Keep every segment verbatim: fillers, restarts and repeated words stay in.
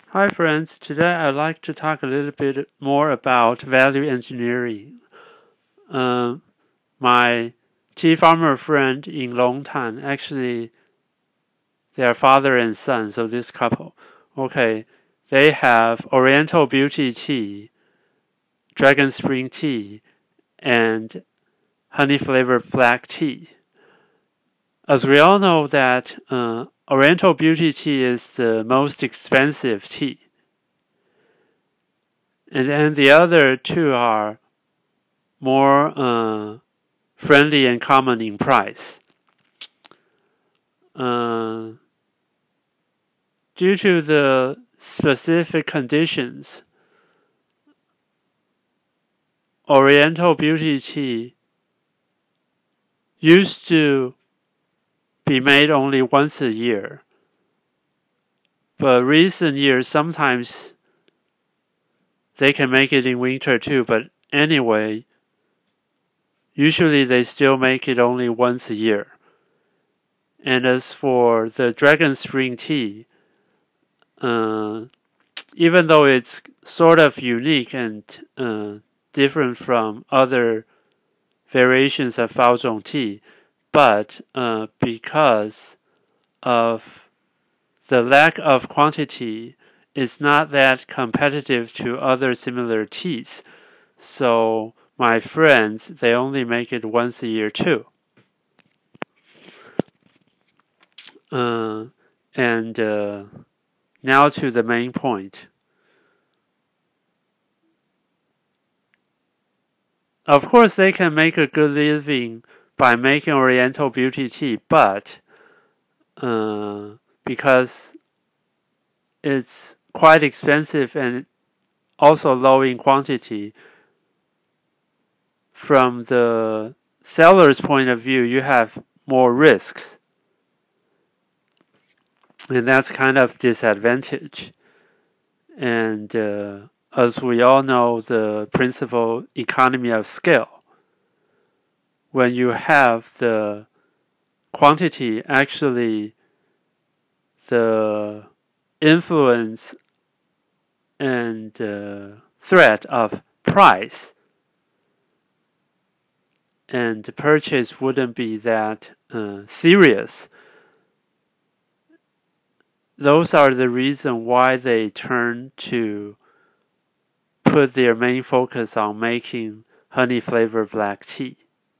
Hi friends, today I'd like to talk a little bit more about value engineering. Uh, my tea farmer friend in Longtan, actually they are father and son, so this couple, okay, they have Oriental Beauty Tea, Dragon Spring Tea, and honey flavored black tea. As we all know that uh, Oriental Beauty Tea is the most expensive tea. And then the other two are more uh, friendly and common in price. Uh, due to the specific conditions, Oriental Beauty Tea used to be made only once a year. But recent years, sometimes they can make it in winter too. But anyway, usually they still make it only once a year. And as for the Dragon Spring Tea, uh, even though it's sort of unique and uh, different from other variations of Baozhong tea, but uh, because of the lack of quantity, it's not that competitive to other similar teas. So my friends, they only make it once a year too. Uh, and uh, now to the main point. Of course, they can make a good living by making Oriental Beauty Tea, but uh, because it's quite expensive and also low in quantity, from the seller's point of view, you have more risks. And that's kind of disadvantage. And uh, as we all know, the principle economy of scale. When you have the quantity, actually the influence and uh, threat of price and purchase wouldn't be that uh, serious. Those are the reason why they turn to put their main focus on making honey flavored black tea.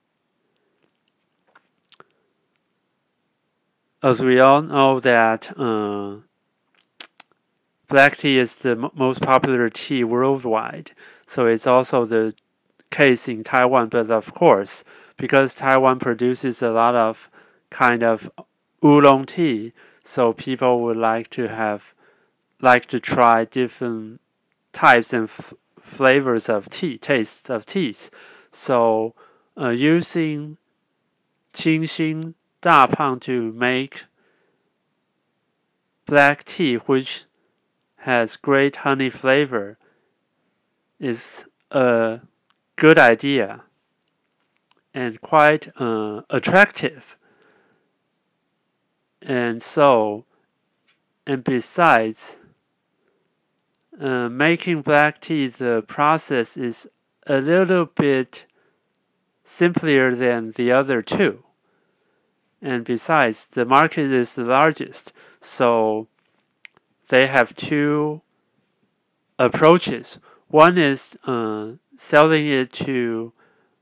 As we all know that uh, black tea is the m- most popular tea worldwide, so it's also the case in Taiwan. But of course, because Taiwan produces a lot of kind of oolong tea, so people would like to have like to try different types and f- flavors of tea, tastes of teas. So uh, using Qingxin Dapang to make black tea, which has great honey flavor, is a good idea and quite uh, attractive. And so, and besides, uh, making black tea, the process is a little bit simpler than the other two. And besides, the market is the largest, so they have two approaches. One is uh, selling it to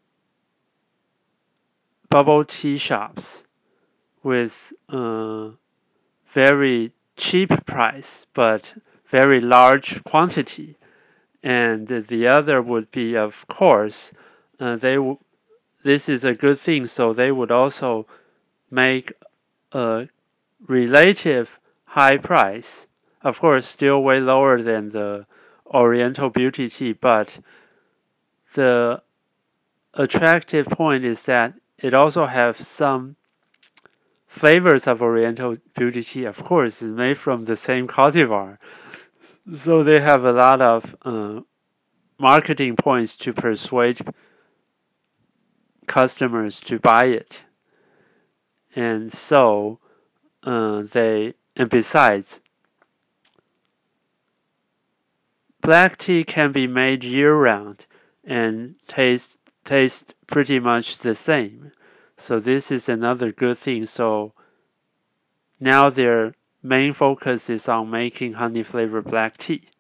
bubble tea shops with uh, very cheap price but very large quantity. And the other would be, of course, uh, they w- this is a good thing, so they would also make a relative high price. Of course, still way lower than the Oriental Beauty Tea, but the attractive point is that it also has some flavors of Oriental Beauty Tea. Of course, is made from the same cultivar, so they have a lot of uh, marketing points to persuade customers to buy it. And so uh, they, and besides, black tea can be made year-round and taste taste pretty much the same. So this is another good thing. So now their main focus is on making honey flavored black tea.